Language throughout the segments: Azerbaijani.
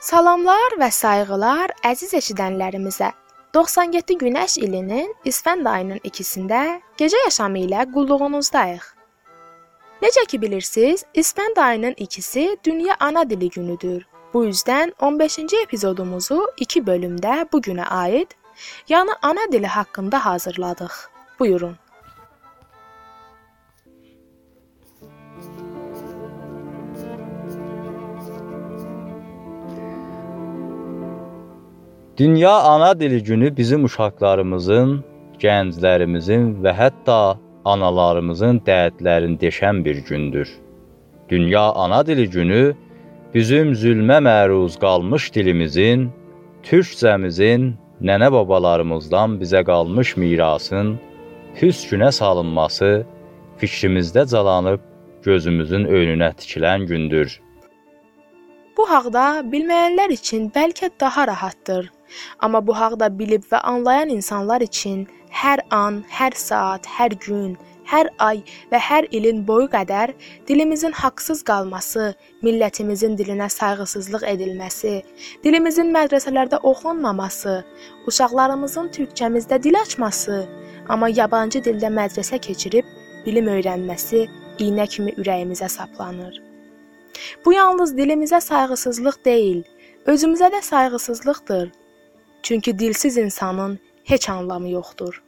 Salamlar və sayğılar əziz eşidənlərimizə. 97 Günəş ilinin İsfənd ayının 2-sində gecə yaşamı ilə qulluğunuzdayıq. Necə ki bilirsiniz, İsfənd ayının 2-si Dünya Ana Dili günüdür. Bu yüzden 15-ci epizodumuzu 2 bölümdə bu günə aid, yəni ana dili haqqında hazırladıq. Buyurun. Dünya Ana Dili günü bizim uşaqlarımızın, gənclərimizin və hətta analarımızın dərdlərini deşən bir gündür. Dünya Ana Dili günü bizim zülmə məruz qalmış dilimizin, türkcəmizin, nənə babalarımızdan bizə qalmış mirasın hüsnə salınması fikrimizdə calanıb gözümüzün önünə tikilən gündür. Bu haqda bilməyənlər üçün bəlkə daha rahatdır. Amma bu haqda bilib və anlayan insanlar üçün hər an, hər saat, hər gün, hər ay və hər ilin boyu qədər dilimizin haqsız qalması, millətimizin dilinə sayğısızlıq edilməsi, dilimizin mədrəsələrdə oxunmaması, uşaqlarımızın türkçəmizdə dil açması, amma yabancı dildə mədrəsə keçirib bilim öyrənməsi iynə kimi ürəyimizə saplanır. Bu yalnız dilimizə sayğısızlıq deyil, özümüzə də sayğısızlıqdır. Çünki dilsiz insanın heç anlamı yoxdur.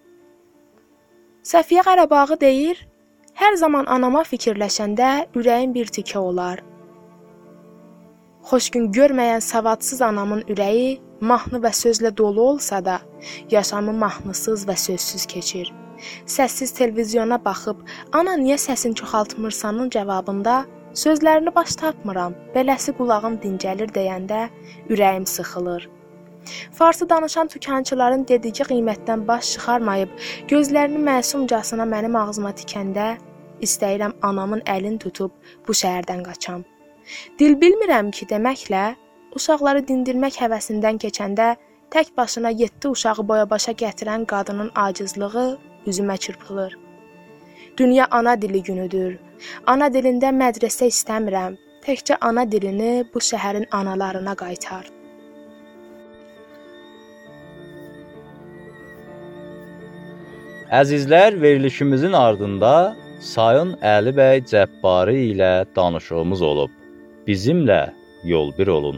Səfiyyə Qarabağ deyir, hər zaman anama fikirləşəndə ürəyim bir tikə olar. Xoş gün görməyən savadsız anamın ürəyi mahnı və sözlə dolu olsa da, yaşamı mahnısız və sözsüz keçir. Səssiz televizyona baxıb, ana niyə səsini çoxaltmırsanın cavabında, sözlərini baş tapmıram, beləsi qulağım dincəlir deyəndə ürəyim sıxılır. Farsı danışan tükançıların dediyi qiymətdən baş çıxarmayıb, gözlərini məsumcasına mənim ağzıma tikəndə, istəyirəm anamın əlini tutub bu şəhərdən qaçam. Dil bilmirəm ki deməklə, uşaqları dindirmək həvəsindən keçəndə, tək başına 7 uşağı boya-başa gətirən qadının acizlığı üzümə çırpılır. Dünya Ana Dili günüdür. Ana dilində mədrəsə istəmirəm, təkcə ana dilini bu şəhərin analarına qaytar. Əzizlər, verilişimizin ardında Sayın Əli bəy Cəbbari ilə danışığımız olub. Bizimlə yol bir olun.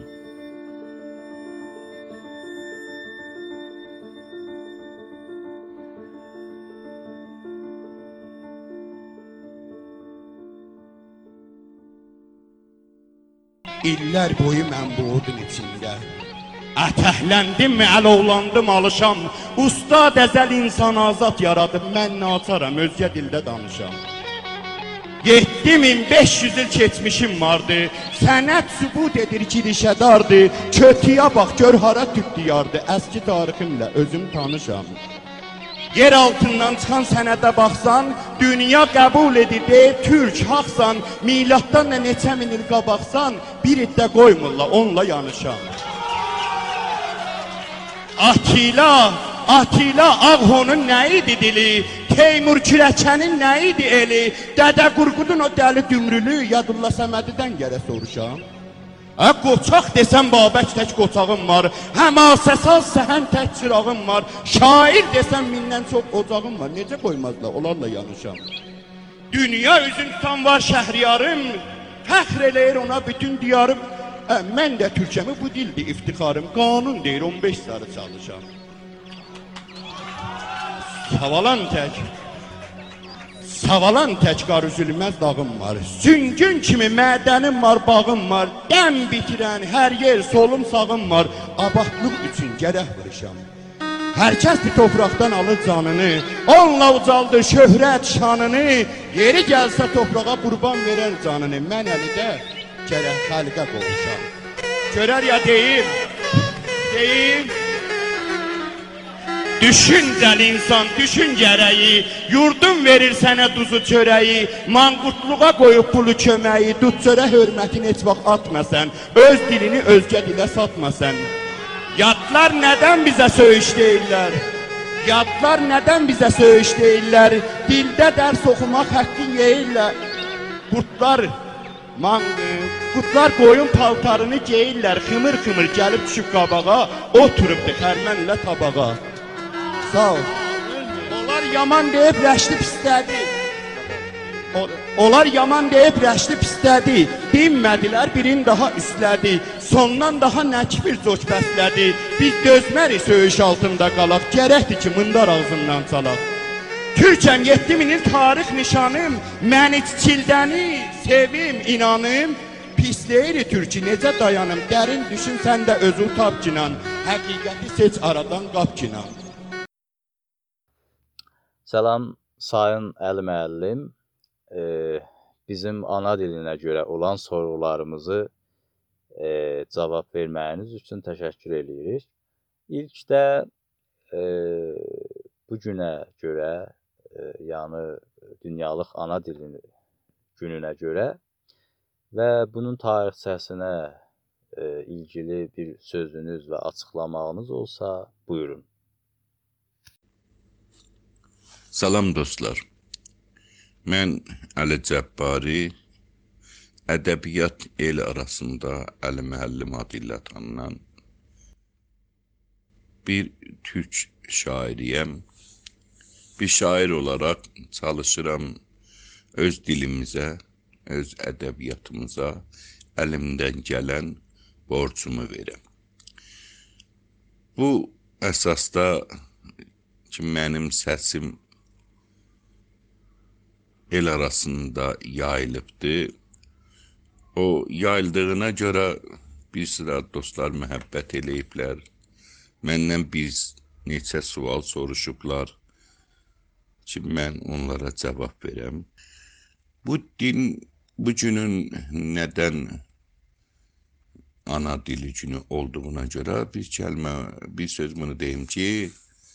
İllər boyu mən bu odun içində ətəhləndim, əlovlandım, alışam. Ustad əzəl insan azad yaradım, mən naçaram, özgə dildə danışam. 7500 il keçmişim vardı, sənət sübut edir ki, rişədardı. Kötüyə bax, gör hara tüp diyardı, əski tariximlə özüm tanışam. Yer altından çıxan sənədə baxsan, dünya qəbul edir, deyib türk, haqsan. Miladdan da neçə min il qabaqsan, bir iddə qoymurla, onunla yanışam. Atila Ağhonun nə idi dili, Teymur Kürəkənin nə idi eli, Dədə Qurqudun o dəli dümrülü, Yadulla Səmədidən gərə soruşam. Qoçaq desəm Babək tək qoçağım var, həmasəsaz səhən tək çırağım var, şair desəm mindən çox ocağım var, necə qoymazlar, onlarla yanışam. Dünya üzün tutan var şəhriyarım, fəxr eləyir ona bütün diyarım. Mən də türkçəmi bu dildir iftixarım, qanun deyir 15 sarı çalışam. Savalan tək qar üzülməz dağım var, süngün kimi mədənim var, bağım var, dəm bitirən hər yer solum sağım var, abadlıq üçün gərək vuruşam. Hər kəs bir topraqdan alır canını, onunla ucaldır şöhrət şanını, yeri gəlsə toprağa qurban verər canını, mən əlidə gərək xalqə qovuşam. Görər ya deyim, düşüncəl insan, düşün gərəyi, yurdun verir sənə duzu çörəyi, manqurtluğa qoyub pulu köməyi, dud çörə hörmətini heç vaxt atmasən, öz dilini özgə dilə satmasən. Yadlar nədən bizə söyüş deyirlər? Dildə dərs oxumaq həqqin yeyirlər. Qutlar qoyun paltarını geyirlər, xımır-xımır gəlib düşüb qabağa, oturubdu xərmənlə tabağa. Sağ ol. Onlar yaman deyib rəşli pislədi. Onlar yaman deyib rəşli pislədi. Dinmədilər, birin daha üstlədi. Sondan daha nəkbir coç bəslədi. Biz dözmərik söyüş altında qalaq. Gərəkdir ki, mındar ağzından çalaq. Türkəm 7000-in tarix nişanım. Məni çildəni, sevim, inanım. Pisleyiri türkü necə dayanım. Dərin düşün sən də özün tap kinan. Həqiqəti seç aradan qap kinan. Salam Sayın Əli müəllim. Bizim ana dilinə görə olan sorularımızı cavab verməyiniz üçün təşəkkür edirik. İlk də bu günə görə, yəni Dünyalıq Ana Dili gününə görə və bunun tarixçəsinə ilgili bir sözünüz və açıqlamağınız olsa, buyurun. Salam dostlar. Mən Əli Cəbbari, ədəbiyyat el arasında Əli müəllim adı ilə tanınan bir türk şairiyəm. Bir şair olaraq çalışıram öz dilimizə, öz ədəbiyyatımıza əlimdən gələn borcumu verəm. Bu əsasda ki, mənim səsim el arasında yayılıbdır. O yayıldığına görə bir sıra dostlar məhəbbət eləyiblər. Məndən bir neçə sual soruşublar ki, mən onlara cavab verəm. Bu günün nədən ana dili günü olduğuna görə bir söz bunu deyim ki,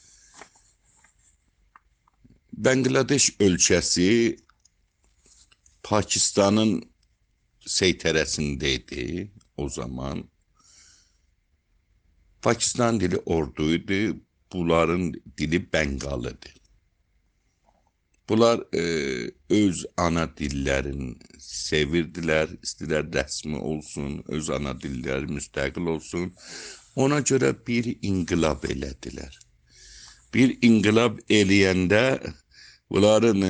Bangladeş ölkəsi Pakistanın seytərəsindəydi o zaman. Pakistan dili orduydu, bunların dili Bengalıdır. Bunlar öz ana dillərini sevirdilər, istilər rəsmi olsun, öz ana dilləri müstəqil olsun. Ona görə bir inqilab elədilər. Bir inqilab eləyəndə bunların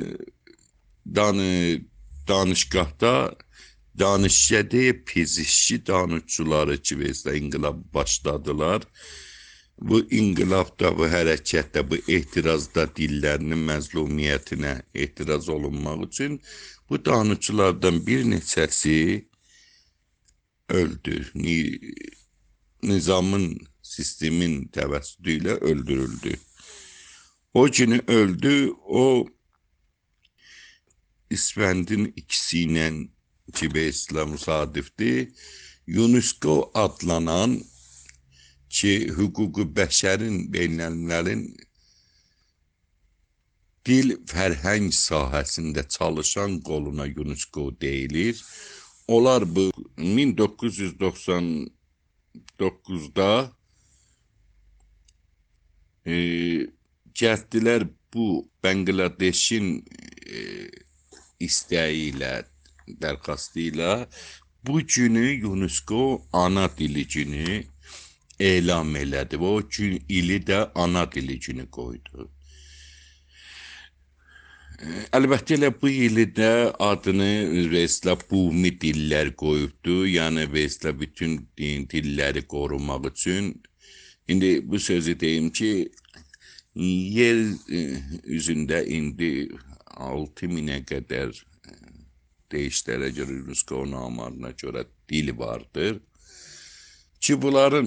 danışqahda danışçıdə pezişçi danışçıları ki, inqilab başladılar. Bu inqilabda, bu hərəkətdə, bu etirazda dillərinin məzlumiyyətinə etiraz olunmaq üçün bu danışçılardan bir neçəsi öldü. Nizamın, sistemin təvəssüdü ilə öldürüldü. O günü öldü, o İsfəndin ikisi ilə ki, beyslə müsadifdir, UNESCO adlanan ki, hüququ bəşərin, beynəlmiləlin dil fərhəng sahəsində çalışan qoluna UNESCO deyilir. Onlar bu 1999-da gəldilər bu Bangladeşin istəyi ilə, dərxastı ilə bu günü UNESCO ana dili günü elam elədi və o gün ili də ana dili günü qoydu. Əlbəttə elə bu ili də adını Vesla Bumi dillər qoyubdu. Yəni Vesla bütün dilləri qorumaq üçün. İndi bu sözü deyim ki, yer üzündə indi 6000-ə qədər deyişlərə görə, UNESCO namarına görə dili vardır. Ki, bunların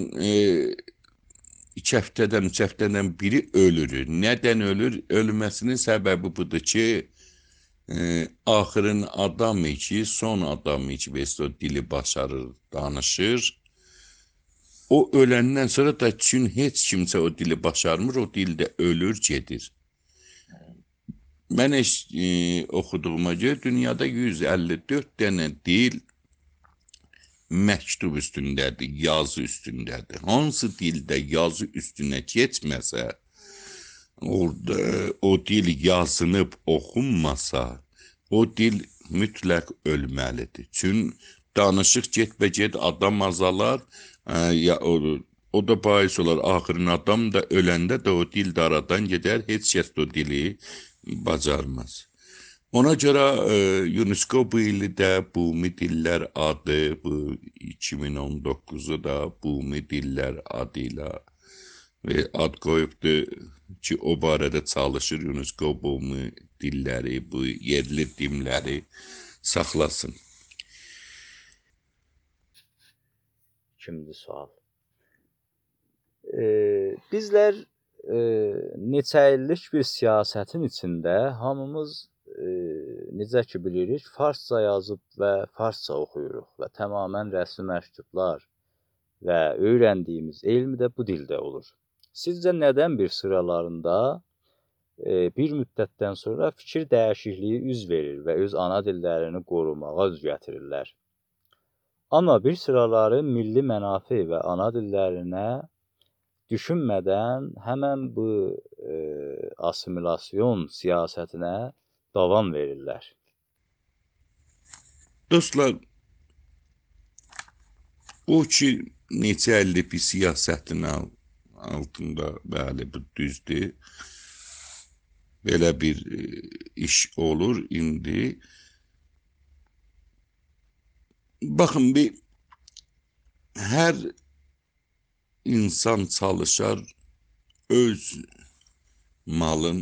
2 həftədən, 3 həftədən biri ölür. Nədən ölür? Ölməsinin səbəbi budur ki, axırın adamı ki, son adamı ki, o dili başarır, danışır. O öləndən sonra da üçün heç kimsə o dili başarmır, o dildə ölür, gedir. Mən oxuduğuma görə dünyada 154 dənə dil məktub üstündədir, yazı üstündədir. Hansı dildə yazı üstünə keçməsə, orada o dil yazınıb oxunmasa, o dil mütləq ölməlidir. Çün danışıq getbə-get adam azalar, ya o da bahis olar. Axırın adam da öləndə də o dil də aradan gedər, heç kəs o dili bacarmaz. Ona görə UNESCO bu ili də Bumi Dillər adı, bu 2019'u da Bumi Dillər adıyla ad qoyubdur ki, o barədə çalışır UNESCO Bumi dilləri, bu yerli dilləri saxlasın. İkinci sual. Bizlər neçə illik bir siyasətin içində hamımız necə ki bilirik, farsça yazıb və farsça oxuyuruq və tamamən rəsmi məktublar və öyrəndiyimiz elm də bu dildə olur. Sizcə nədən bir sıralarında bir müddətdən sonra fikir dəyişikliyi üz verir və öz ana dillərini qorumağa üz gətirirlər? Amma bir sıraları milli mənafe və ana dillərinə düşünmədən həmən bu assimilasyon siyasətinə davam verirlər. Dostlar, o ki neçə illik bir siyasətin altında, bəli, bu düzdür. Belə bir iş olur indi. Baxın, hər insan çalışar öz malın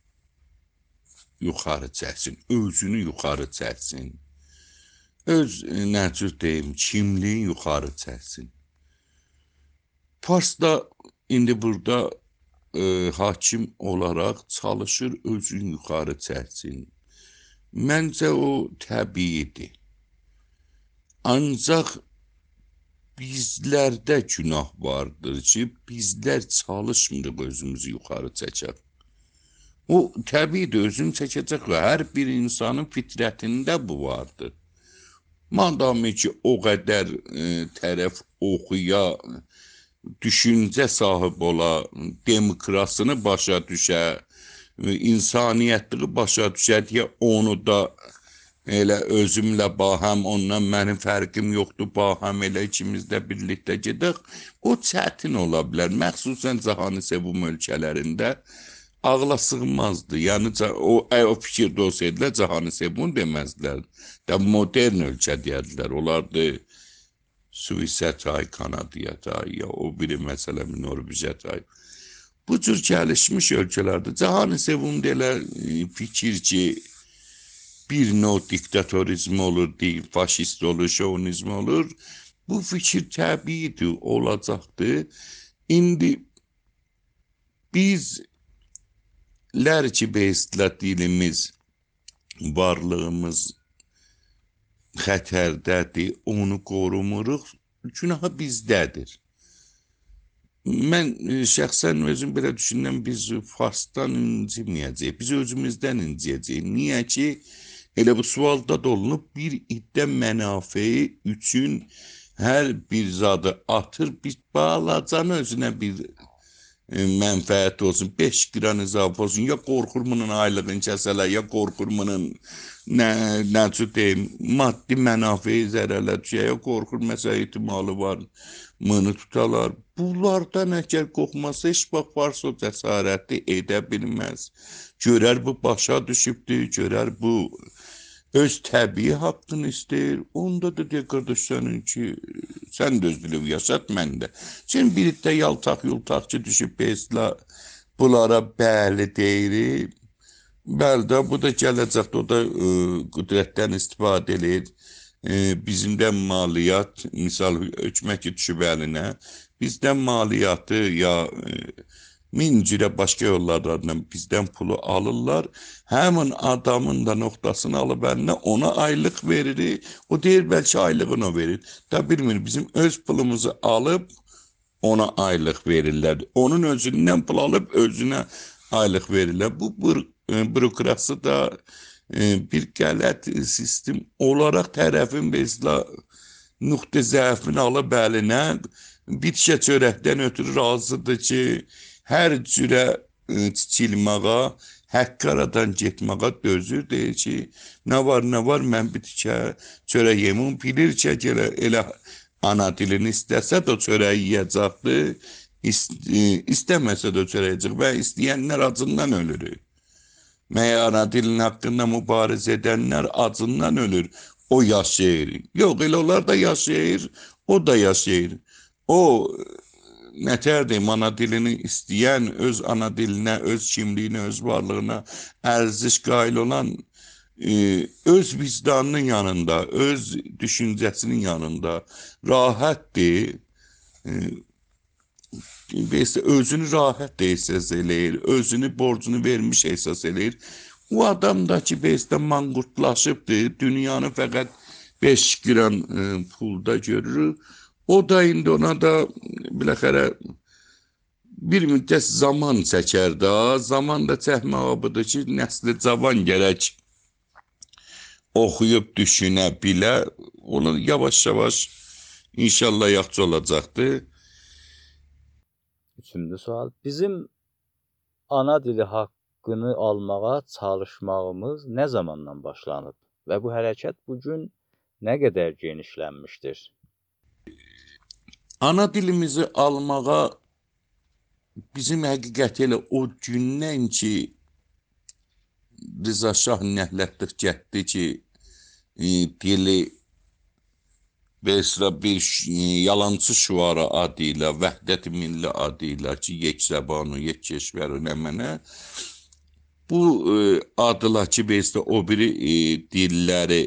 yuxarı çəksin, özünü yuxarı çəksin, öz nəcür deyim, kimliyin yuxarı çəksin. Fars da indi burada hakim olaraq çalışır, özünü yuxarı çəksin. Məncə o təbiidir. Ancaq bizlərdə günah vardır ki, bizlər çalışmırıq özümüzü yuxarı çəkək. O təbiidir, özünü çəkəcək və hər bir insanın fitrətində bu vardır. Madami ki, o qədər tərəf oxuya, düşüncə sahib ola, demokrasını başa düşə, insaniyyətliyi başa düşə deyə onu da elə özümlə bahəm, ondan mənim fərqim yoxdur, bahəm elə ikimiz də birlikdə gedək. O çətin ola bilər, məxsusən cahanı sevum ölkələrində ağla sığmazdı. Yəni o fikirdə olsaydılar cahanı sevum deməzdilər. Da modern ölkə deyədilər. Onlardı Suisə çay, Kanadiya çay, ya o biri məsələ Norveçə çay. Bu cür gəlişmiş ölkələrdə cahanı sevum deyə fikir ki, bir növ diktatorizm olur, faşist olur, şovinizm olur. Bu fikir təbiidir, olacaqdır. İndi bizlər ki, beyslə dilimiz, varlığımız xətərdədir, onu qorumuruq, günahı bizdədir. Mən şəxsən özüm belə düşünürəm, biz Farsdan inciməyəcəyik, biz özümüzdən inciyəcəyik. Niyə ki, elə bu sualda da olunub, bir iddə mənafeyi üçün hər bir zadı atır, bir balacanı özünə bir mənfəət olsun, 5 qran izafə olsun, ya qorxur bunun aylığını kəsələr, ya qorxur bunun necə deyim, maddi mənafeyi zərərlə düşə, ya qorxur məsələ ihtimalı var, mını tutalar. Bunlardan əgər qorxmasa, heç bax varsa o cəsarəti edə bilməz. Görər bu başa düşübdür, görər bu öz təbii haqqını istəyir, onda da deyə qardaş sənin ki, sən də öz bilib yaşat, mən də. Şimdi birlikdə yaltaq ki, düşüb bezlə bunlara bəli deyirik. Bəli də, bu da gələcəkdə, o da qüdrətdən istifadə edir. Bizimdən maliyyat, misal hökumət ki, düşüb əlinə, bizdən maliyyatı ya min cürə başqa yollardan bizdən pulu alırlar. Həmin adamın da nöqtasını alıb əlinə, ona aylıq veririk. O deyir, bəlkə aylığını o verir. Da bilmir, bizim öz pulumuzu alıb ona aylıq verirlər. Onun özündən pul alıb özünə aylıq verirlər. Bu bürokrasi da bir qələt sistem olaraq tərəfin bezlə nöqtə zəifini alıb əlinə bir çörəkdən ötürü razıdır ki, hər cürə çilmağa, Haqqı aradan getməyə dözür, deyir ki, nə var, mən bir tikə çörək yemim, bilir ki, elə ana dilini istəsə də o çörəyi yiyəcəkdir, istəməsə də o çörəyi yiyəcək və istəyənlər acından ölür. Məyər ana dilinin haqqında mübarizə edənlər acından ölür, o yaşayır. Yox, elə onlar da yaşayır, o da yaşayır. O, nətərdir, ana dilini istəyən, öz ana dilinə, öz kimliyinə, öz varlığına ərziş qail olan, öz vicdanının yanında, öz düşüncəsinin yanında rahatdır, özünü rahat ehsas eləyir, özünü borcunu vermiş ehsas eləyir. O adam da ki, manqurtlaşıbdır, dünyanı fəqət 5 gram pulda görür. O da indi ona da biləxərə bir müddət zaman çəkər da, zaman da çəkməyə budur ki, nəsli cavan gərək oxuyub düşünə bilə, onu yavaş-yavaş inşallah yaxşı olacaqdır. Üçüncü sual. Bizim ana dili haqqını almağa çalışmağımız nə zamandan başlanıb və bu hərəkət bugün nə qədər genişlənmişdir? Ana dilimizi almağa bizim həqiqət elə o gündən ki, Rıza Şah nəhlətdir getdi ki, dili bir yalancı şüara adı ilə, Vəhdət-i Milli adı ilə ki, yeksəbanu, yekkeşvəru nəmənə, bu adıla ki, o biri dilləri,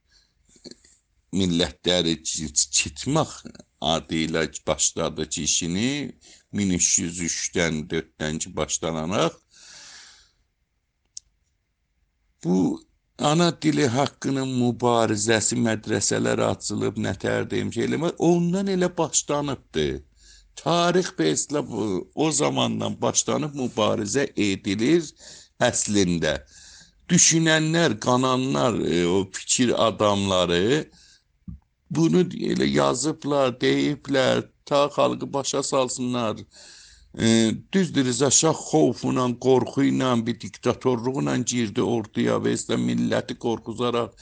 millətləri çitmək adı ilə başladı ki, işini 1303-dən 4-dən ki, başlanaraq, bu ana dili haqqının mübarizəsi mədrəsələr açılıb, nətər deyim ki, ondan elə başlanıbdır. Tarix bəslə o zamandan başlanıb mübarizə edilir əslində. Düşünənlər, qananlar, o fikir adamları bunu elə yazıblar, deyiblər, ta xalqı başa salsınlar. Düzdür, Rıza Şah xovfuyla, qorxuyla, bir diktatorluqla girdi ortaya və milləti qorxuzaraq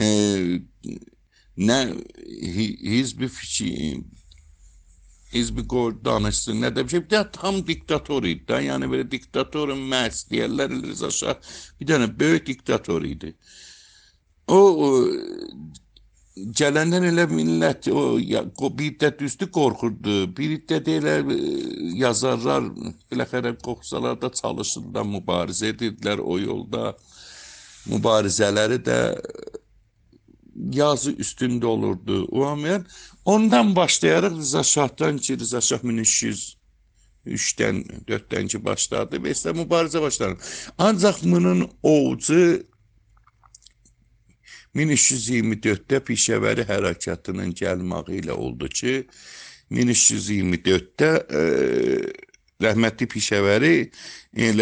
nə hizbi fikir, hizbi danışsın, nə də bir şey, bir də tam diktator idi da, yəni belə diktatorun məhz deyərlər, Rıza Şah bir dənə böyük diktator idi. O gələnlər elə millət, bir də düzdür qorxurdu, bir də elə yazarlar, biləxərə qoxsalarda çalışırlar, mübarizə edirdilər o yolda, mübarizələri də yazı üstündə olurdu. Ondan başlayaraq Rıza Şahdan ki, Rıza Şah 1303-dən 4-dən ki başladı və mübarizə başladı. Ancaq bunun ovucu 1324-də Pişəvəri hərəkatının gəlməyi ilə oldu ki, 1324-də rəhmətli Pişəvəri elə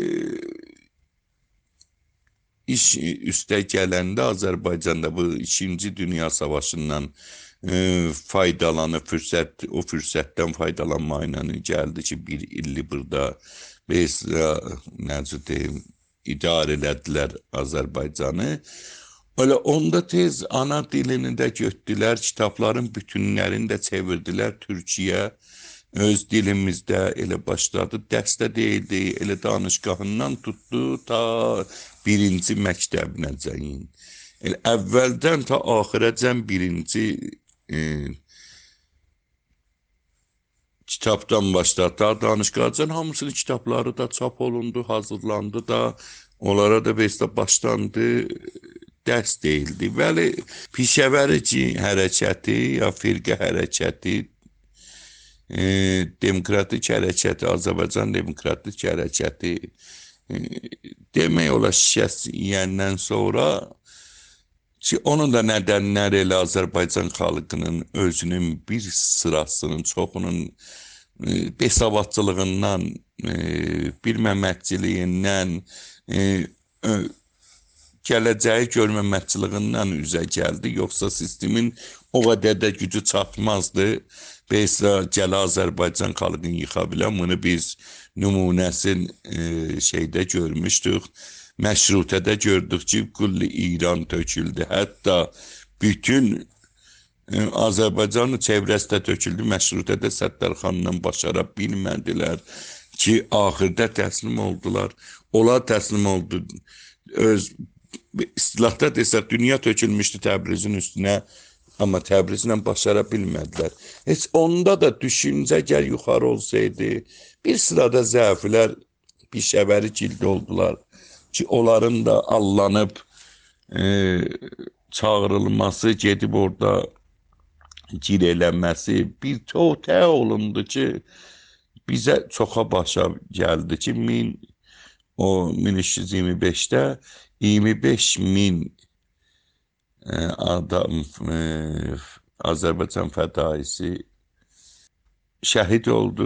iş üstə gələndə Azərbaycanda bu 2-ci Dünya Savaşından faydalanıb, o fürsətdən faydalanmayla gəldi ki, bir illi burada necə deyim, idarə elədilər Azərbaycanı. Öyle onda tez ana dilini də götdülər, kitabların bütünlərini də çevirdilər Türkiyə. Öz dilimizdə elə başladı, dərsdə deyildi, elə danışqahından tutdu ta 1-ci məktəbinəcəyin. Elə əvvəldən ta axirəcən 1-ci kitabdan başladı, ta danışqahcan hamısının kitabları da çap olundu, hazırlandı da, onlara da başlandı. Dərs deyildi. Bəli, Pişəvəri hərəkəti, ya firqə hərəkəti, demokratik hərəkəti, Azərbaycan demokratik hərəkəti demək olar şikəst yiyəndən sonra ki, onun da nədənləri elə Azərbaycan xalqının özünün bir sırasının, çoxunun besavadçılığından, bilməməkçiliyindən, gələcəyi görməməkçiliyindən üzə gəldi. Yoxsa sistemin o qədər də gücü çatmazdı. Beysə gələ Azərbaycan xalqını yıxa bilən, bunu biz nümunəsin şeydə görmüşdük. Məşrutədə gördük ki, kulli İran töküldü. Hətta bütün Azərbaycanın çevrəsində töküldü. Məşrutədə Səttarxanla başara bilmədilər ki, axırda təslim oldular. Onlar təslim oldu. Öz istilahda desək, dünya tökülmüşdü Təbrizin üstünə, amma Təbrizlə başara bilmədilər. Heç onda da düşüncə gəl yuxarı olsaydı, bir sırada zəiflər bir şəvəri cildi oldular ki, onların da allanıb çağırılması, gedib orada gir eləməsi bir tə olundu ki, bizə çoxa başa gəldi ki, 1325-də 25.000 adam Azərbaycan fədaisi şəhid oldu.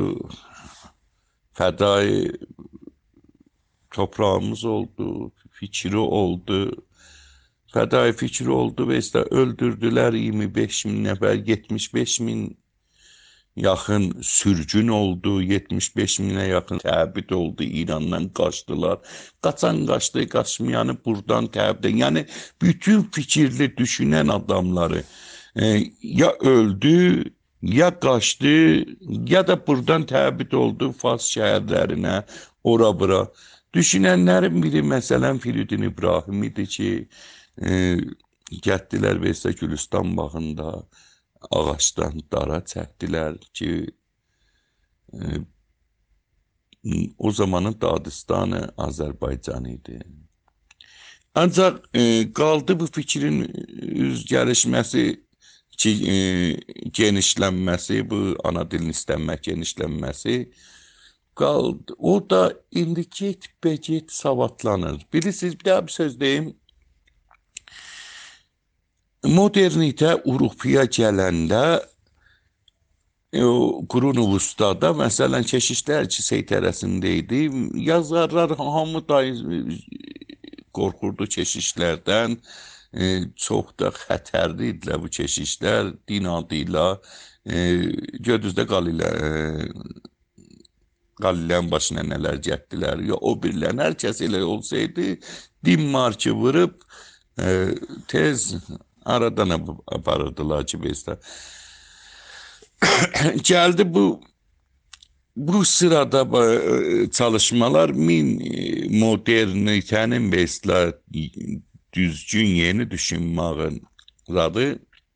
Fədai toprağımız oldu, fikri oldu. Fədai fikri oldu və işte öldürdülər 25.000 nəfər, 75.000 yaxın sürgün oldu, 75.000'e yaxın təbid oldu, İrandan qaçdılar. Qaçan qaçdı, qaçmayanı buradan təbid. Yəni bütün fikirli düşünən adamları ya öldü, ya qaçdı, ya da buradan təbid oldu Fars şəhərlərinə, ora bura. Düşünənlərin biri məsələn Firidun İbrahim idi ki, getdilər Veysə Gülüstan bağında ağaçdan dara çəkdilər ki, o zamanın Dağıstanı Azərbaycan idi. Ancaq qaldı bu fikrin üzgəlişməsi, genişlənməsi, bu ana dilin istənmək genişlənməsi qaldı. O da indi get savadlanır. Bilirsiniz, bir daha bir söz deyim. Modernitə Avropaya gələndə Qurun-u Vustada məsələn keşişlər ki, seytərəsində idi. Yazarlar hamı da qorxurdu keşişlərdən. Çox da xətərli idilər bu keşişlər. Din adıyla Gödüzdə Qalilərin başına nələr getdilər. Ya o birlərin hər kəs elə olsaydı din marşı vurub tez aradan aparırdılar ki, bizdə. Gəldi bu sırada çalışmalar modernitenin bizdə düzgün yeni düşünməyin adı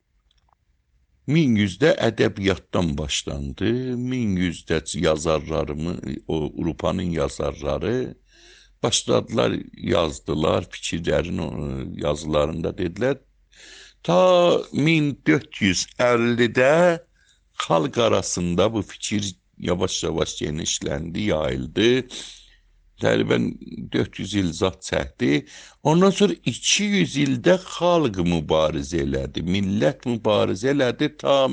1100'də ədəbiyyatdan başlandı. 1100'də yazarlarımı, Avropanın yazarları başladılar, yazdılar, fikirlərin yazılarında dedilər. Ta 1450'də xalq arasında bu fikir yavaş-yavaş genişləndi, yayıldı. Təqribən 400 il zat çəkdi. Ondan sonra 200 ildə xalq mübarizə elədi, millət mübarizə elədi. Ta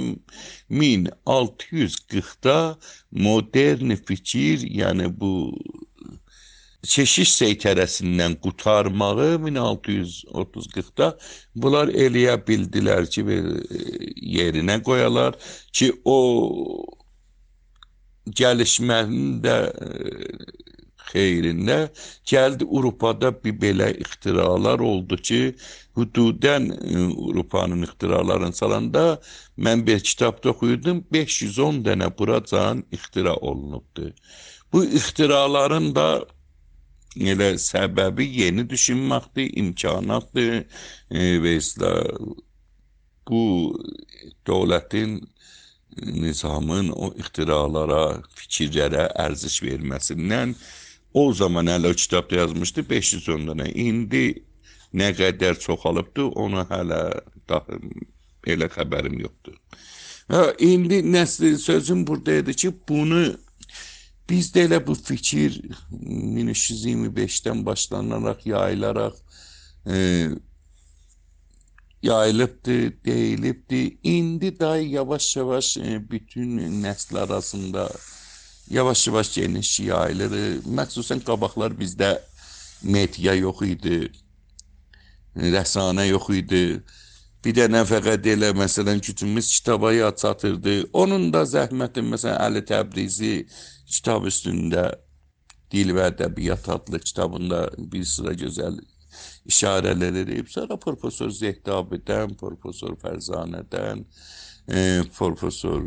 1640'da modern fikir, yəni bu keşiş seytərəsindən qurtarmağı 1630-40'da bunlar eləyə bildilər ki, yerinə qoyalar ki, o gəlişmənin də xeyrində gəldi. Avropada bir belə ixtiralar oldu ki, hududən Avropanın ixtiralarını salanda mən bir kitabda oxuyurdum, 510 dənə buracan ixtira olunubdu. Bu ixtiraların da elə səbəbi yeni düşünməkdir, imkanatdır və bu dövlətin, nizamın o ixtiralara, fikirlərə ərziş verməsindən o zaman hələ o kitabda yazmışdı 510 dənə. İndi nə qədər çoxalıbdır, onu hələ daha elə xəbərim yoxdur. İndi sözüm buradaydı ki, bunu bizdə elə bu fikir 1325'dən başlanaraq, yayılaraq yayılıbdı, deyilibdi. İndi daha yavaş-yavaş bütün nəsl arasında yavaş-yavaş geniş yayılır. Məxsusən qabaqlar bizdə media yox idi, rəsanə yox idi. Bir dənə fəqət elə, məsələn, gücümüz kitaba çatırdı. Onun da zəhməti, məsələn, Əli Təbrizi kitab üstündə Dil və Ədəbiyyat adlı kitabında bir sıra gözəl işarələr edib. Sonra Profesor Zehdabidən, Profesor Fərzanədən, Profesor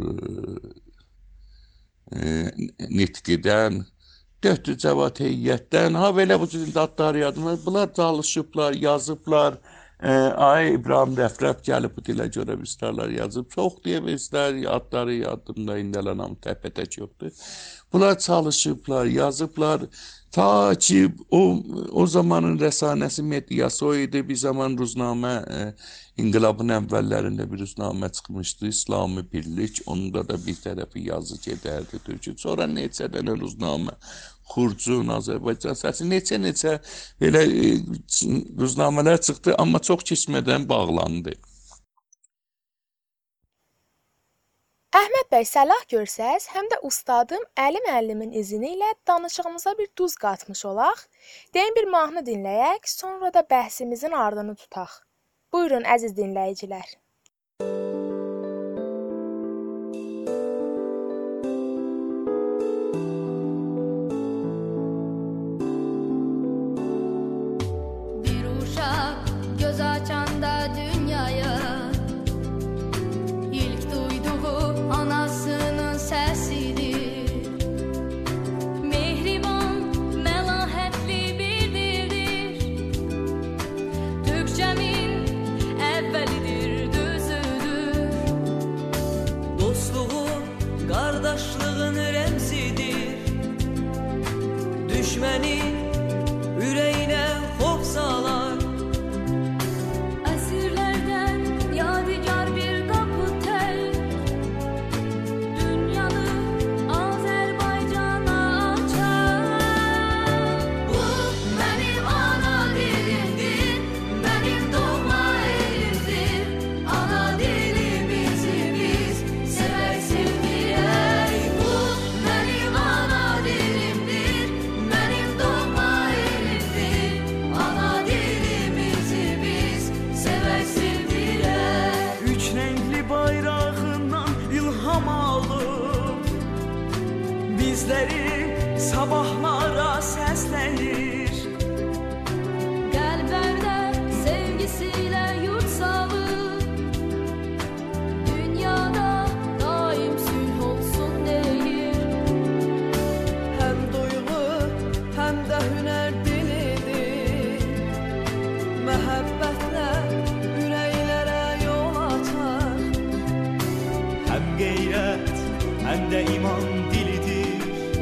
Nitqidən, Döhdü Cəvat Heyyyətdən, belə bu cür adları yadıma. Bunlar çalışıblar, yazıblar. Ay İbrahim Rəfrəf gəlib bu dilə görə misralar yazıb. Çox deyə bilsələr, adları yadımda indələnəm, təpətək yoxdur. Bunlar çalışıblar, yazıblar. Ta ki o zamanın rəsanəsi medyası o idi. Bir zaman Ruznamə, İnqilabın əvvəllərində bir Ruznamə çıxmışdı, İslami Birlik. Onun da bir tərəfi yazı gedərdi Türkçe. Sonra neçə dənə Ruznamə, Xurcun, Azərbaycan Səsi, neçə belə Ruznamələr çıxdı, amma çox keçmədən bağlandı. Əhməd bəy, səlah görsəz, həm də ustadım Əli müəllimin izni ilə danışığımıza bir duz qatmış olaq. Deyin bir mahnı dinləyək, sonra da bəhsimizin ardını tutaq. Buyurun əziz dinləyicilər. Bir uşaq göz açanda dünyaya ilk duyduğu anasının səsidir. Mehriban, məlahətli bir dildir. Türkçəmin əvvəlidir, düzüdür. Dostluğun, qardaşlığın rəmzidir. Düşməni ürəyinə xof salar. Əsirlərdən yadigar bir qapı tel, dünyanı Azərbaycana açar. Bu mənim ana dilimdir, mənim doğma elimdir. Ana dilimizi biz sevək sevdirək. Bu mənim ana dilimdir, mənim doğma elimdir. Ana dilimizi biz sevək sevdirək. Üç rəngli bayrağından ilham alıb bizləri sabahlara səsləyir. Qəlblərdə sevgisiyle yurt salır. Dünyada daim sülh olsun deyir. Həm duyğu, həm də hünər dilidir. Məhəbbətlə ürəklərə yol açar. Həm qeyrət, həm də iman dilidir.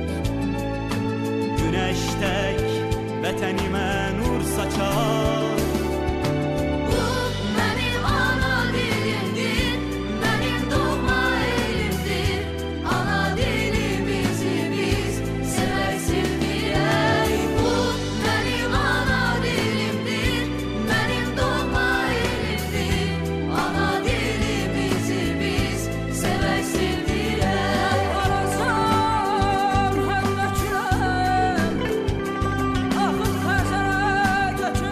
Günəş tək vətənimə nur saçar. Bu mənim ana dilimdir, mənim doğma elimdir. Ana dilimizi biz sevək sevdirək. Bu mənim ana dilimdir, mənim doğma elimdir. Ana dilimizi biz sevək sevdirək. Arasan hələ külək, axın xəzərə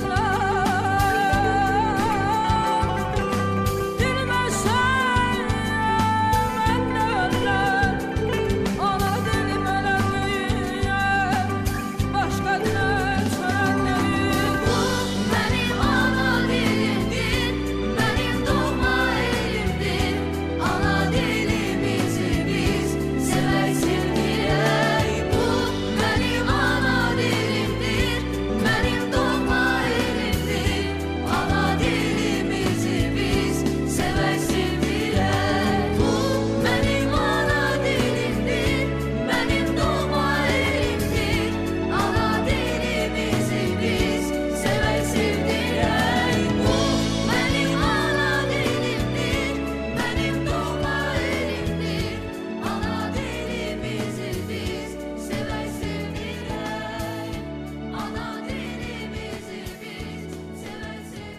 götürlər. Bilməsən mən nə ölər, ana dilim ölər, başqa dilə çörəkdir. Bu mənim ana dilimdir, mənim doğma elimdir. Ana dilimizi biz sevək sevdirək. Bu mənim ana dilimdir, mənim doğma elimdir. Ana dilimizi biz sevək sevdirək. Bu mənim ana dilimdir, mənim doğma elimdir. Ana dilimizi biz sevək sevdirək. Bu mənim ana dilimdir, mənim doğma elimdir. Ana dilimizi biz sevək sevdirək. Ana dilimizi biz sevək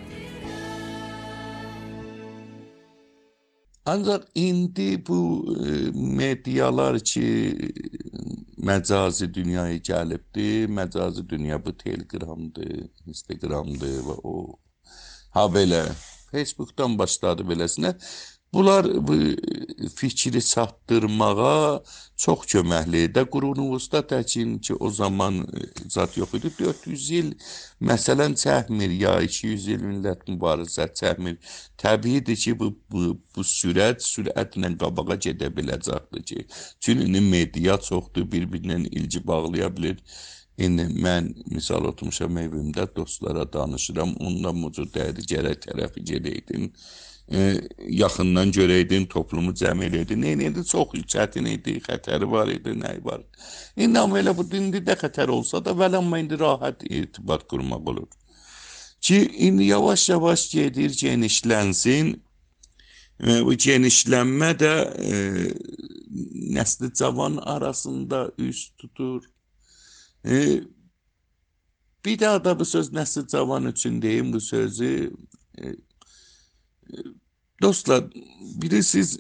sevdirək. Ancaq indi bu medialar ki məcazi dünyaya gəlibdir, məcazi dünya bu Telegramdır, Instagramdır və o ha belə Facebookdan başladı beləsinə. Bunlar bu fikri çatdırmağa çox köməkli idi. Qurunumuzda təkin ki, o zaman zat yox idi. 400 il məsələn çəkmir ya 200 il millət mübarizə çəkmir. Təbiidir ki, bu sürətlə qabağa gedə biləcəkdir ki. Çünki media çoxdur, bir-birinə ilgi bağlaya bilir. İndi mən misal oturmuşam evimdə dostlara danışıram. Ondan mucur dəydi, gərək tərəfi gedəydin. Yaxından görəydin, toplumu cəm eləydin. Neydi? Çox çətin idi, xətəri var idi, nəyi var. İndi amma elə bu indi də xətər olsa da, vəl amma indi rahat irtibat qurmaq olur. Ki, indi yavaş-yavaş gedir, genişlənsin. Bu genişlənmə də nəsli cavan arasında üz tutur. Bir daha da bu söz nəsli cavan üçün deyim bu sözü. Dostlar, bilirsiniz,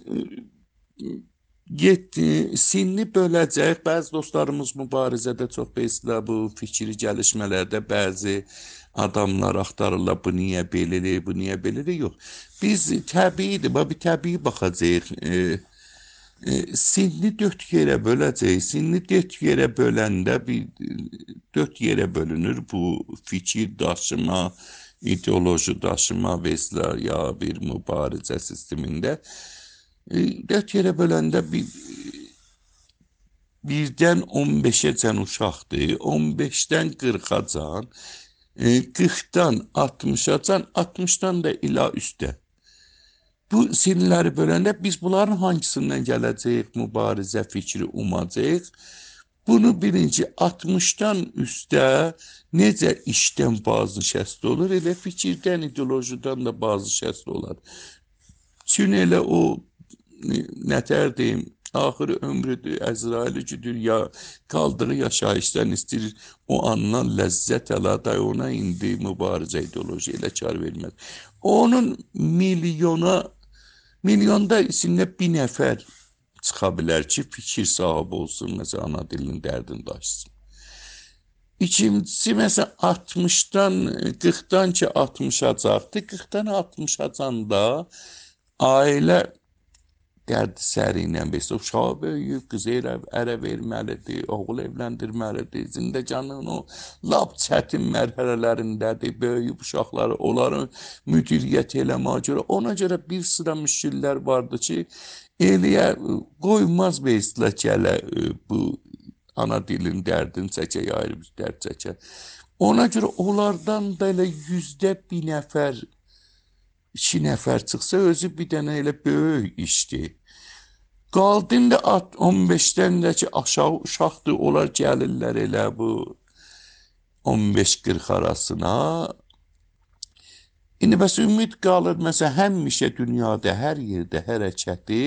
sinni böləcək, bəzi dostlarımız mübarizədə çox beslə, bu fikri gəlişmələrdə bəzi adamlar axtarırlar, bu niyə belədir, bu niyə belədir, yox. Biz təbiidir, bir təbii baxacaq, sinni 4 yerə böləcək, sinni 4 yerə böləndə 4 yerə bölünür bu fikir daşıma, ideoloji daşıma vesla ya bir mübarizə sistemində 4 yerə böləndə birdən 15-ə can uşaqdır, 15-dən 40-a can, 40-dan 60-a can, 60-dan da ila üstə. Bu sinirləri böləndə biz bunların hangisindən gələcək, mübarizə fikri umacaq? Bunu birinci 60-dan üstə necə işdən bazı şəsl olur, elə fikirdən, ideolojidən də bazı şəsl olar. Çünki elə o nətər deyim, axırı ömrüdür, Əzraili güdür ya qaldığı yaşayışdan istəyir o andan ləzzət əladay ona indi mübarizə ideoloji elə kar verməz. Onun milyonda içində bir nəfər çıxa bilər ki, fikir sahibi olsun, məsələn, ana dilinin dərdini daşısın. İkincisi, məsələn, 60-dan, 40-dan ki, 60-a caqdır, 40-dan 60-a canda ailə dərdi səri ilə beslə, uşağı böyüyüb, qızı ərə verməlidir, oğul evləndirməlidir, zindəcanın o lap çətin mərhələlərindədir, böyüyüb uşaqları, onların müdiriyyət eləməyə görə, ona görə bir sıra müşkillər vardı ki, eləyə qoymaz beslə gələ bu ana dilin dərdini çəkə, ayrı bir dərd çəkə. Ona görə onlardan da elə 100-də bir nəfər, 2 nəfər çıxsa, özü bir dənə elə böyük işdir. Qaldın da 15-dən də ki, aşağı uşaqdır, onlar gəlirlər elə bu 15-40 arasına. İndi bəs ümid qalır, məsələn, həmişə dünyada, hər yerdə hərəkəti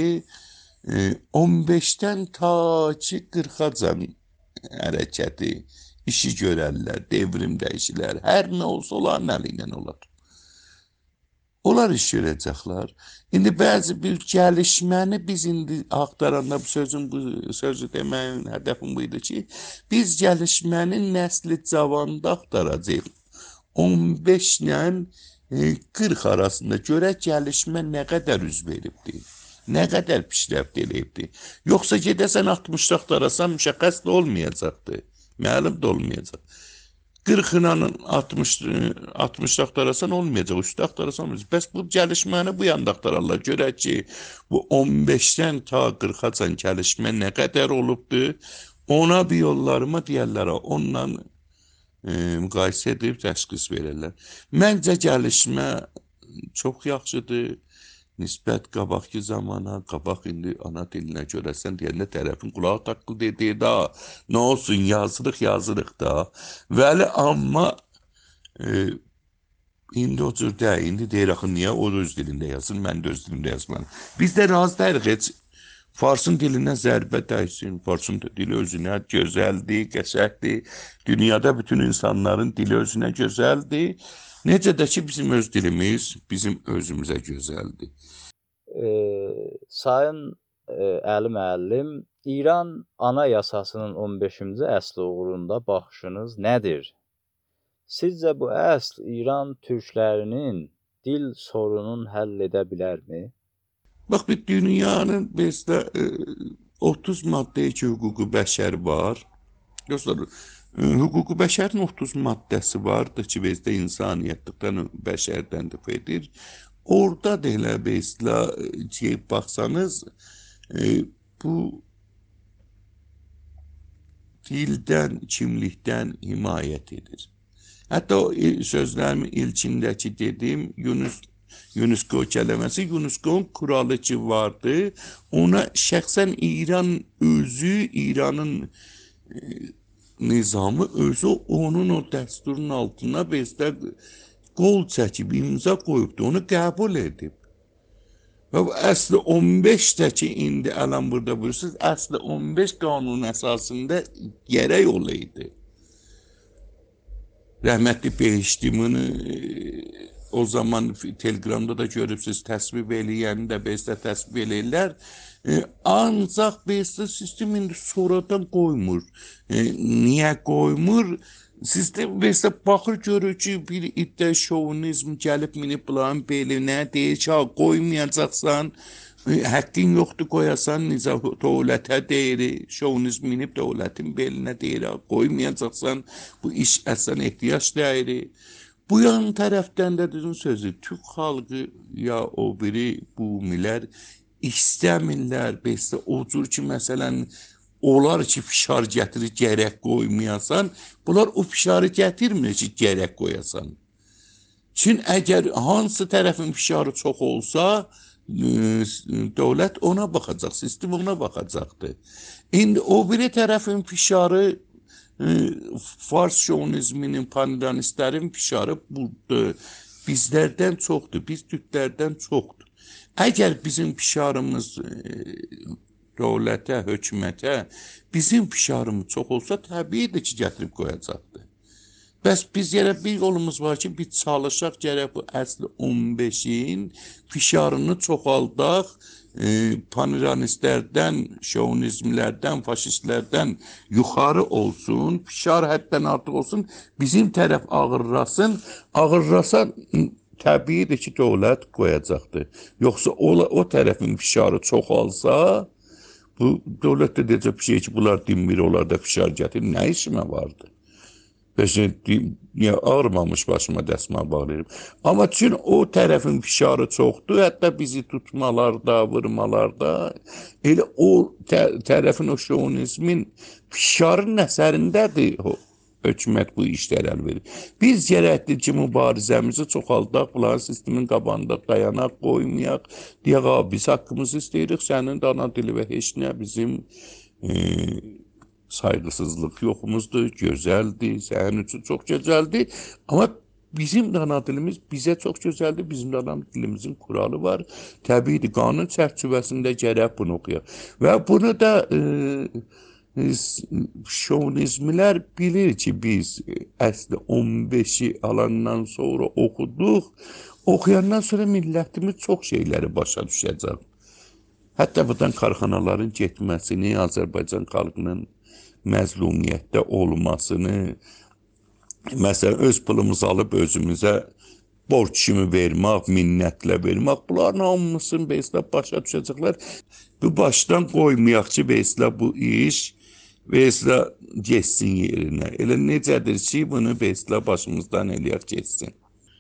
15-dən ta ki 40-acan hərəkəti, işi görərlər, devrim dəyişilər, hər nə olsa onların əlindən olar. Onlar iş görəcəklər. İndi bəzi bir gəlişməni biz indi axtaranda bu sözü deməyin hədəfim bu idi ki, biz gəlişməni nəsli cavanda axtaracaq. 15 ilə 40 arasında görək gəlişmə nə qədər üz veribdir, nə qədər pişrəft eləyibdir. Yoxsa gedəsən 60-da axtarasan müşəxəs də olmayacaqdır, məlum da olmayacaq. 40-la 60-da axtarasan olmayacaq, üstə axtarasan olmayacaq. Bəs bu gəlişməni bu yanda axtararlar. Görək ki, bu 15-dən ta 40-acan gəlişmə nə qədər olubdur, ona bir yollarıma deyərlər, onunla müqayisə edib təşxis verirlər. Məncə gəlişmə çox yaxşıdır. Nisbət qabaqki zamana, qabaq indi ana dilinə görəsən deyəndə tərəfin qulağı taqqıl deyir da, nə olsun yazırıq da. Vəli amma indi o cür deyil, indi deyir axı niyə o öz dilində yazsın, mən də öz dilimdə yazmalıyım. Biz də razı deyirik, heç Farsın dilinə zərbə dəysin, Farsın dili özünə gözəldir, qəşəkdir. Dünyada bütün insanların dili özünə gözəldir. Necə də ki, bizim öz dilimiz bizim özümüzə gözəldir. Sayın Əli müəllim, İran Anayasasının 15-ci əsli uğrunda baxışınız nədir? Sizcə bu əsl İran türklərinin dil sorununu həll edə bilərmi? Bax, bir dünyanın mesela 30 maddəyə ki, hüquqi bəşər var. Dostlar, hüquqi bəşərin 30 maddəsi vardır ki, bizdə insaniyyətlikdən, bəşərdən dəf edir. Orada da elə mesela baxsanız, bu dildən, kimlikdən himayət edir. Hətta o sözlərimin ilkindəki dedim, UNESCO kələməsi, UNESCO'nun kuralı ki vardı, ona şəxsən İran özü, İranın nizamı özü onun o dəsturun altına bizdə qol çəkib, imza qoyubdu, onu qəbul edib. Və bu əsli 15-də ki, indi ələn burada buyursunuz, əsli 15 qanun əsasında gərək olaydı. Rəhmətli Behiştimini o zaman Telegramda da görürsünüz, təsvib eləyəni də bezdə təsvib eləyirlər. Ancaq bezdə sistem indi sonradan qoymur. Niyə qoymur? Sistem bezdə baxır, görür ki, bir iddia şovinizm gəlib minib bunların belinə, deyir ki, qoymayacaqsan, həqqin yoxdur qoyasan, nizam dövlətə deyir, şovinizm minib dövlətin belinə deyir, qoymayacaqsan, bu iş əslən ehtiyac deyir. Bu yan tərəfdən də düzün sözü, Türk xalqı ya o biri bumilər istəmirlər, bezdə o cür ki, məsələn, onlar ki, fişar gətirir, gərək qoymayasan, bunlar o fişarı gətirmir ki, gərək qoyasan. Çünki əgər hansı tərəfin fişarı çox olsa, dövlət ona baxacaq, sistem ona baxacaqdır. İndi o biri tərəfin fişarı, Fars şovinizminin, pandanistlərin fişarı budur. Bizlərdən çoxdur, biz türklərdən çoxdur. Əgər bizim fişarımız dövlətə, hökumətə, bizim fişarımız çox olsa, təbiidir ki, gətirib qoyacaqdır. Bəs biz gərək bir yolumuz var ki, biz çalışaq gərək bu əsli 15-in fişarını çoxaldaq, pandanistlərdən, şovinizmlərdən, faşistlərdən yuxarı olsun, fişar həddən artıq olsun, bizim tərəf ağırlasın, ağırlasa təbiidir ki, dövlət qoyacaqdır. Yoxsa o tərəfin fişarı çoxalsa, bu dövlət də deyəcək bir şey ki, bunlar dinmir, onlar da fişar gətirir, nə işimə vardı? Ağrımamış başıma dəsmal bağlayırım. Amma çünki o tərəfin fişarı çoxdur, hətta bizi tutmalarda, vurmalarda, elə o tərəfin, o şovinizmin fişarın əsərindədir hökumət bu işlər əl verir. Biz gərəkdir ki, mübarizəmizi çoxaldaq, bunların sistemin qabağında dayanaq, qoymayaq, deyək, biz haqqımızı istəyirik, sənin də ana dili və heç nə bizim saygısızlıq yoxumuzdur, gözəldir, sənin üçün çox gözəldir. Amma bizim də ana dilimiz bizə çox gözəldir, bizim də ana dilimizin kuralı var. Təbiidir, qanun çərçivəsində gərək bunu oxuyaq. Və bunu da şovinizmlər bilir ki, biz əsli 15-i alandan sonra oxuduq. Oxuyandan sonra millətimiz çox şeyləri başa düşəcək. Hətta buradan karxanaların getməsini, Azərbaycan xalqının məzlumiyyətdə olmasını, məsələn, öz pulumuzu alıb özümüzə borc kimi vermək, minnətlə vermək, bunların hamısını beslə başa düşəcəklər. Bu başdan qoymayaq ki, beslə bu iş, beslə geçsin yerinə. Elə necədir ki, bunu beslə başımızdan eləyək geçsin.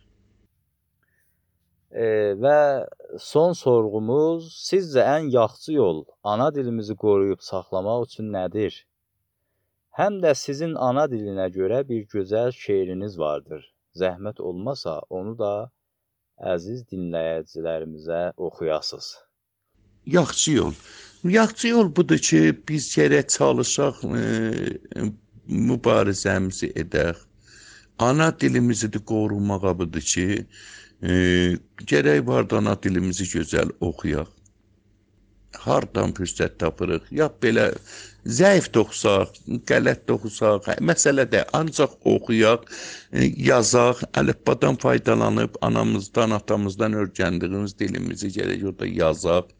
Və son sorğumuz, sizcə ən yaxşı yol ana dilimizi qoruyub saxlamaq üçün nədir? Həm də sizin ana dilinə görə bir gözəl şeiriniz vardır. Zəhmət olmasa onu da əziz dinləyicilərimizə oxuyasınız. Yaxşı yol. Yaxşı yol budur ki, biz gərək çalışaq, mübarizəmizi edək. Ana dilimizi də qorumağa budur ki, gərək var da ana dilimizi gözəl oxuyaq. Hardan fürsət tapırıq, ya belə zəif də oxusaq, qələt də oxusaq, məsələ də ancaq oxuyaq, yazaq, əlifbadan faydalanıb anamızdan, atamızdan öyrəndiyimiz dilimizi gərək orada yazaq,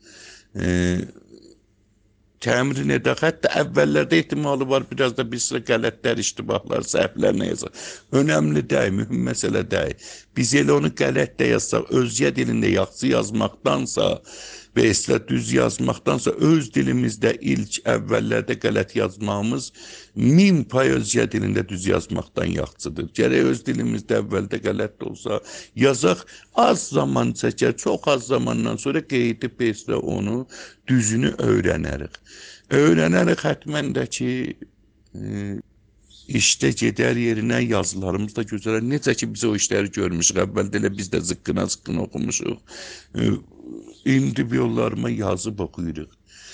təmrin edək. Hətta əvvəllərdə ehtimalı var, biraz da bir sıra qələtlər, iştibahlar, səhvlər nə yazaq. Önəmli deyil, mühüm məsələ deyil. Biz elə onu qələt də yazsaq, özgə dilində yaxşı yazmaqdansa və əslə düz yazmaqdansa öz dilimizdə ilk əvvəllərdə qələt yazmağımız 1000% özgə dilində düz yazmaqdan yaxşıdır. Gərək öz dilimizdə əvvəldə qələt də olsa yazaq, az zaman çəkər, çox az zamandan sonra qeydi peslə onu düzünü öyrənərik. Öyrənərik həttəmən də ki, İşdə gedər yerinə yazılarımız da gözələr. Necə ki biz o işləri görmüşük. Əvvəldə elə biz də zıqqına oxumuşuq. İndi bir yollarıma yazıb oxuyuruq.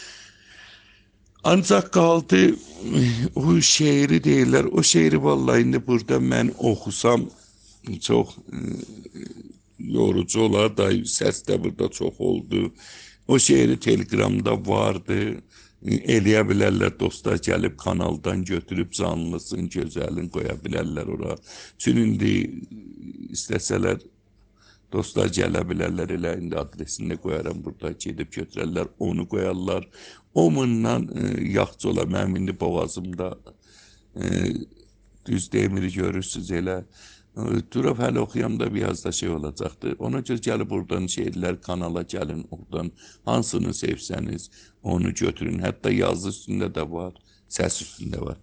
Ancaq qaldı o şeiri deyirlər. O şeiri vallahi indi burada mən oxusam çox yorucu olar da səs də burada çox oldu. O şeiri Telegramda vardı. Eləyə bilərlər, dostlar gəlib kanaldan götürüb canlısın, gözəlin qoya bilərlər ora. Çünki indi istəsələr dostlar gələ bilərlər, elə indi adresini qoyaram burada, gedib götürərlər, onu qoyarlar. Omundan yaxşı olar, mənim indi boğazımda düz demiri görürsünüz elə. Durub hələ oxuyamda biraz da şey olacaqdır. Ona görə gəlib oradan şeirlər kanala gəlin, oradan hansını sevsəniz onu götürün. Hətta yazı üstündə də var, səs üstündə var.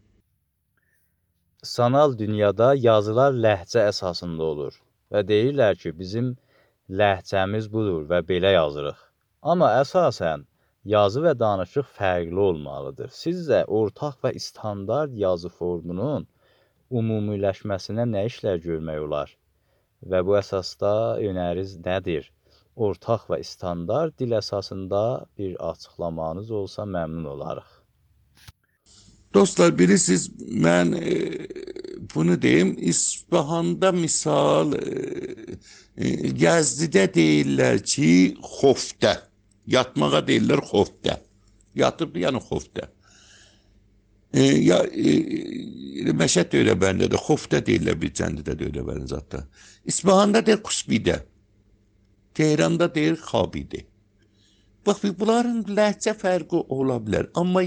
Sanal dünyada yazılar ləhcə əsasında olur və deyirlər ki, bizim ləhcəmiz budur və belə yazırıq. Amma əsasən yazı və danışıq fərqli olmalıdır. Sizcə ortaq və standart yazı formunun ümumiləşməsinə nə işlər görmək olar? Və bu əsasda önəriniz nədir? Ortaq və standart dil əsasında bir açıqlamanız olsa məmnun olarıq. Dostlar, bilirsiniz, mən bunu deyim, İsfahanda misal Gəzdidə deyirlər ki, xoftə. Yatmağa deyirlər xoftə. Yatıb, yəni xoftə. Məşəd də elə bəndə də, xoftə deyirlər bir cəndidə də elə bəndə zətdə. İsfahanda deyir qusbidə. Tehranda deyir xabidə. Bax, bunların ləhcə fərqi ola bilər. Amma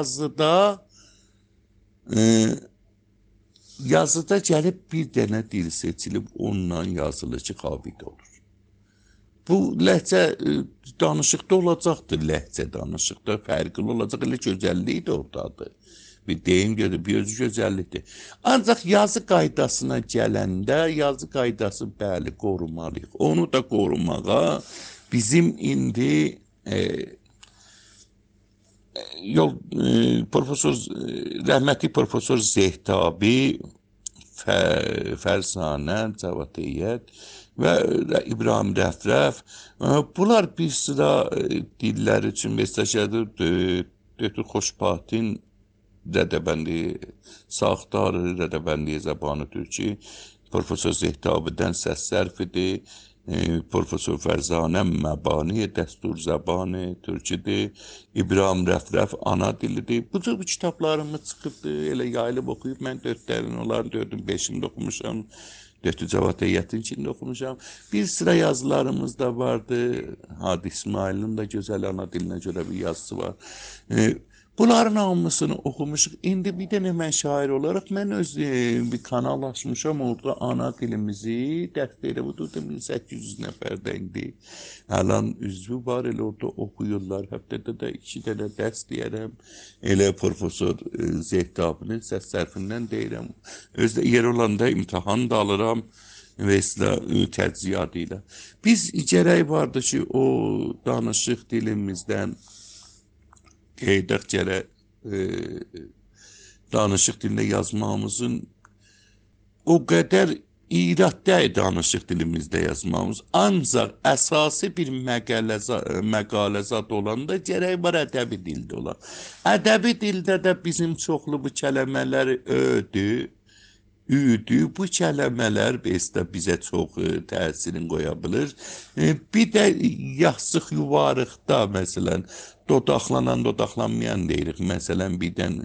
yazıda gəlib bir dənə dil seçilib ondan yazılır ki, xabidə olur. Bu ləhcə danışıqda olacaqdır, ləhcə danışıqda fərqli olacaq, elə gözəlliyi də oradadır. Bir deyim görür, bir özü gözəllikdir. Ancaq yazı qaydasına gələndə, yazı qaydası bəli qorumalıyıq. Onu da qorumağa bizim indi rəhmətli Profesor Zehtabi, Fərzanə, Cavadiyyət və İbrahim Rəfrəf, bunlar bir sıra dillər üçün mesajədir, Dötür Xoşbatin Rədəbəndi, Sağdarı Rədəbəndi Zəbanı Türki, Profesor Zehtabidən səs sərfidir, Profesor Fərzanə Məbani Dəstur Zəbanı Türkidir, İbrahim Rəfrəf ana dilidir. Bu cür kitablarımız çıxıbdır, elə yayılıb oxuyub, mən 4-lərin onların 4-ün 5-ində oxumuşam, 4-ü Cavadiyyətin içində oxumuşam. Bir sıra yazılarımız da vardı, Hadi İsmail'in də gözəl ana dilinə görə bir yazısı var. Bunların hamısını oxumuşuq. İndi bir dənə mən şair olaraq mən öz bir kanal açmışam, orada ana dilimizi dəst elə budur, 1800 nəfərdə indi. Həlan üzvü var, elə orada oxuyurlar. Həftədə də 2 dənə dəst deyərəm. Elə Profesor Zehtabinin səs sərfindən deyirəm. Özdə yer olanda imtahan da alıram və təcziyadı ilə. Biz gərək vardı ki, o danışıq dilimizdən qeydək gərək danışıq dilində yazmamızın o qədər iraddə danışıq dilimizdə yazmamız. Ancaq əsası bir məqaləzat olanda gərək var ədəbi dildə olan. Ədəbi dildə də bizim çoxlu bu kələmələr ödü, bu kələmələr bizə çox təsirini qoya bilir. Bir də yaxsıq yuvarıqda, məsələn, dodaqlanan, dodaqlanmayan deyirik. Məsələn, birdən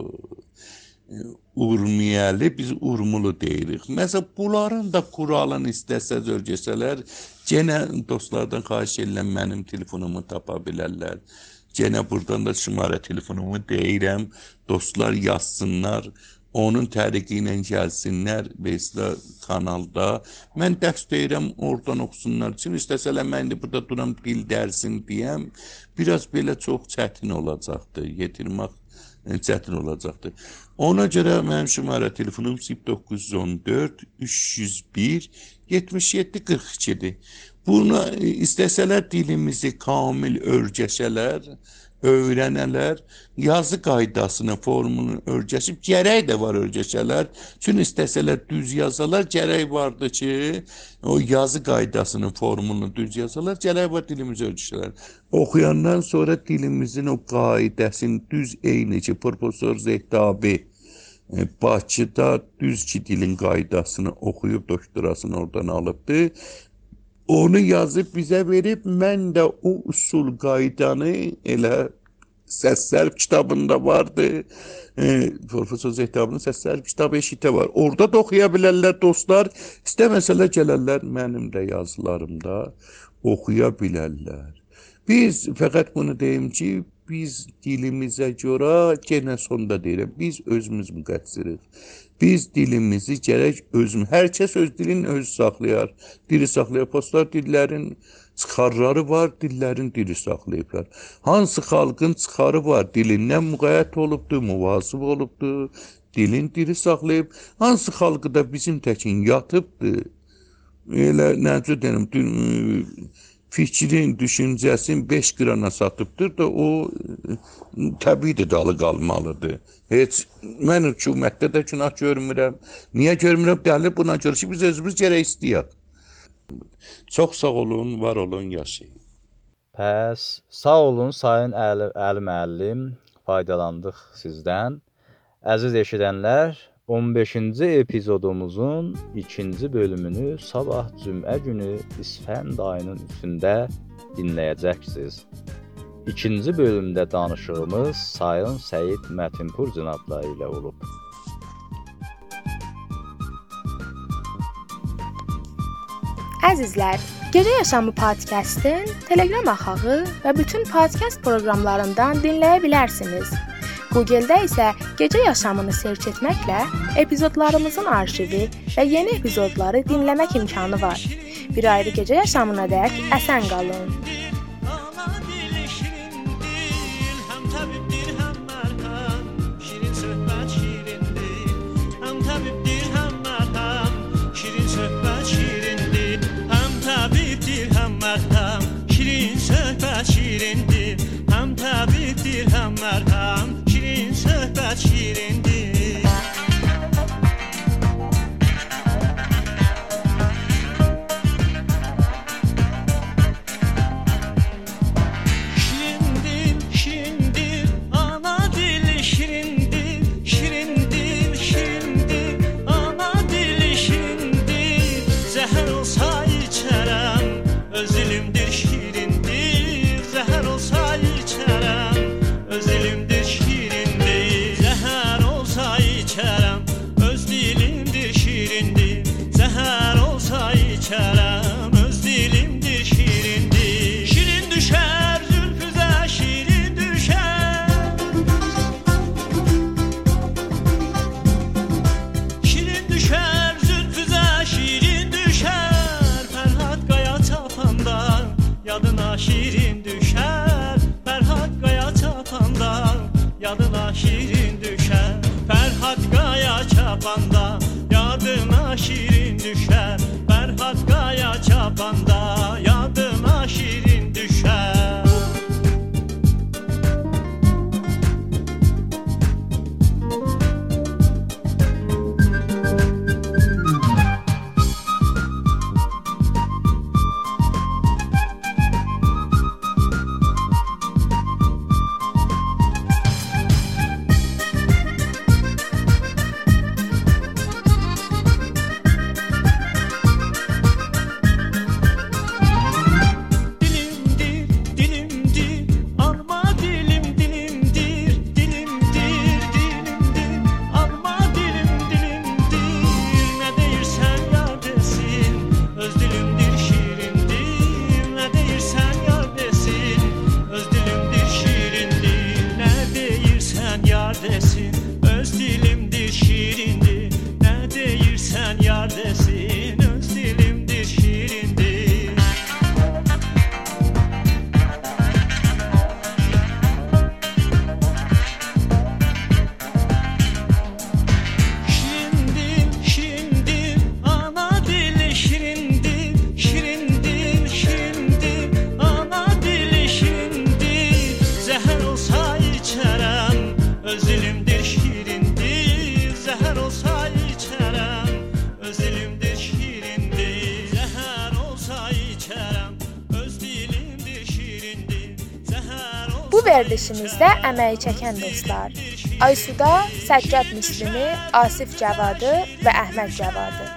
urmiyəli, biz urmulu deyirik. Məsələn, bunların da kuralını istəsə, zörgəsələr, genə dostlardan xahiş edirəm, mənim telefonumu tapa bilərlər. Genə buradan da şümarə telefonumu deyirəm, dostlar yazsınlar, onun tərəqi ilə gəlsinlər Vesla kanalda. Mən dərs deyirəm, oradan oxusunlar üçün. İstəsələr mən də burada duram dil dərsin deyəm. Biraz belə çox çətin olacaqdır. Yetirmək çətin olacaqdır. Ona görə mənim şumara telefonum 0914 301 77 42-dir. Buna istəsələr dilimizi kamil öyrəşələr, öyrənələr, yazı qaydasını, formunu öyrəşib, gərək də var öyrəşələr. Çünki istəsələr düz yazalar, gərək vardı ki, o yazı qaydasının formunu düz yazalar, gərək var dilimizi öyrəşələr. Oxuyandan sonra dilimizin o qaydasını düz eyni ki, Profesor Zehtabi Bakıda düz ki dilin qaydasını oxuyub, doktorasını oradan alıbdı. Onu yazıb bizə verib, mən də o usul qaydanı elə səssərf kitabında vardı. Profesor Zehtabinin səssərf kitabı eşitə var. Orada da oxuya bilərlər dostlar. İstəməsələr gələrlər mənim də yazılarımda oxuya bilərlər. Biz fəqət bunu deyim ki, biz dilimizə görə, genə sonda deyirəm, biz özümüz müqəssiriz. Biz dilimizi gərək özümüz, hər kəs öz dilini öz saxlayar. Dili saxlayar, postlar dillərin çıxarları var, dillərin dili saxlayıblar. Hansı xalqın çıxarı var, dilindən müqayyət olubdur, muvazıb olubdur, dilin dili saxlayıb. Hansı xalqı da bizim təkin yatıbdır, elə necə deyim, fikrin, düşüncəsin 5 qrana satıbdır da o təbii dalı qalmalıdır. Heç mən hökumətdə də günah görmürəm. Niyə görmürəm? Dəli buna görə ki, biz özümüz gərək istəyək. Çox sağ olun, var olun, yaşayın. Pəs, sağ olun Sayın Əli müəllim, faydalandıq sizdən. Əziz eşidənlər, 15-ci epizodumuzun 2-ci bölümünü sabah cümə günü İsfənd ayının 3-də dinləyəcəksiniz. 2-ci bölümdə danışığımız Sayın Səyid Mətinpur cənabları ilə olub. Əzizlər, Gecə Yaşamı podkastın Telegram axağı və bütün podkast proqramlarından dinləyə bilərsiniz. Google-da isə Gecə Yaşamını search etməklə epizodlarımızın arşivi və yeni epizodları dinləmək imkanı var. Bir ayrı Gecə Yaşamına dək əsən qalın. Şirin söhbət şirindir, həm təbibdir, həm mərhəm. Şirin söhbət şirindir. Şirindir, şirindir, ana dili şirindir. Şirindir, şirindir, ana dili şirindir. Zəhər olsa içərəm, öz dilimdir şirindir. Zəhər olsa içərəm, öz dilimdir şirindir. Zəhər olsa içərəm, öz dilimdir şirindir. Zəhər olsa içərəm, öz dilimdir şirindir. Şirin düşər zülfüzə, şirin düşər. Şirin düşər zülfüzə, şirin düşər. Fərhad qaya çapanda yadına şirin düşər. Fərhad qaya çapanda yadına şirin düşər. Fərhad qaya çapanda yadına şirin düşər. Fərhad qaya çapanda yadına şirin düşər. Dilin verilişimizdə əməyi çəkən dostlar Aysuda, Səccad Müslimi, Asif Cəvadı və Əhməd Cəvadı.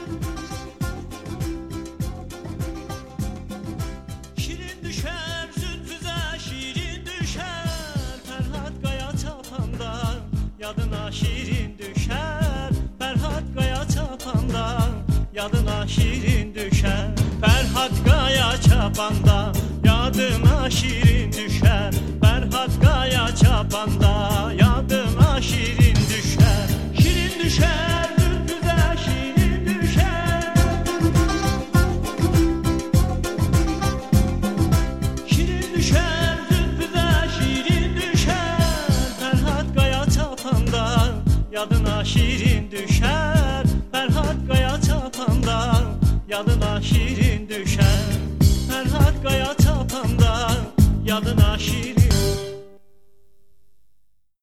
Şirin düşər zülfüzə, şirin düşər Fərhad qaya çapanda, yadına şirin düşər Fərhad qaya çapanda, yadına şirin düşər Fərhad qaya çapanda, yadıma şirin düşər Fərhad qaya çapanda, yadıma şirin düşər Şirin düşər zülfüzə, şirin düşər Şirin düşər zülfüzə, şirin düşər Fərhad qaya çapanda, yadına şirin düşər